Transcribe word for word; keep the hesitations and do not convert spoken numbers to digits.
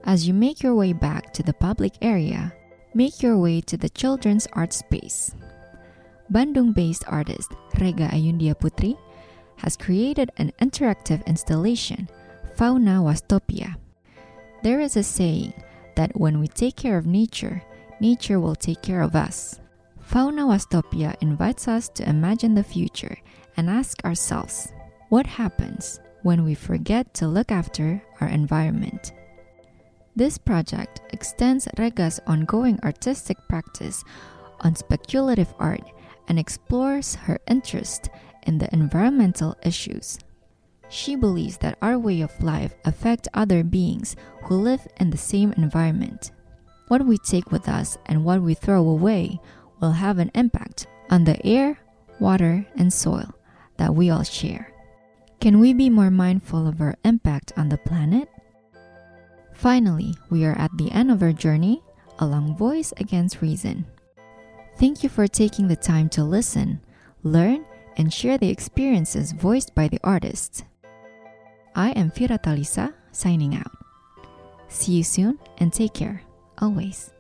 As you make your way back to the public area, make your way to the children's art space. Bandung-based artist Rega Ayundia Putri has created an interactive installation, Fauna Wastopia. There is a saying that when we take care of nature, nature will take care of us. Fauna Wastopia invites us to imagine the future and ask ourselves, what happens when we forget to look after our environment? This project extends Rega's ongoing artistic practice on speculative art and explores her interest in the environmental issues. She believes that our way of life affects other beings who live in the same environment. What we take with us and what we throw away will have an impact on the air, water, and soil that we all share. Can we be more mindful of our impact on the planet? Finally, we are at the end of our journey along Voice Against Reason. Thank you for taking the time to listen, learn, and share the experiences voiced by the artists. I am Fira Talisa, signing out. See you soon and take care, always.